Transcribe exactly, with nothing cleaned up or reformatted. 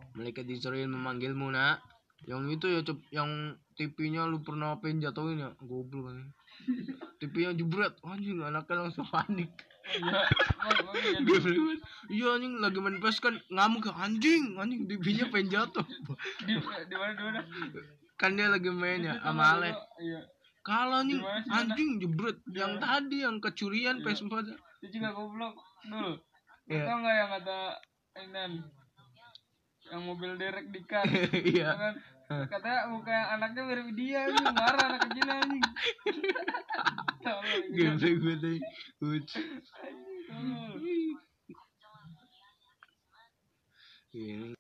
Malaikat Israel memanggilmu nak. Yang itu ya cep, yang T V-nya lu pernah pengen jatuhin ya, goblok kan. T V-nya jebret, anjing anaknya langsung panik. Iya, Goblok. Iya anjing lagi main P E S kan ngamuk anjing, anjing T V-nya pengen jatuh. di di mana di mana? Kan dia lagi main ya sama Ale. Iya. Kalau anjing Dimana sih, anjing jebret yang Dimana? tadi yang kecurian Iya. P S empat. Itu juga goblok dul. Iya. Tahu nggak yang kata Enan yang mobil derek di kar? Iya. Kan? Katanya muka yang anaknya mirip dia nih, marah anak kecil anjing. Goblok gue tadi. Uts. Tolol. Ini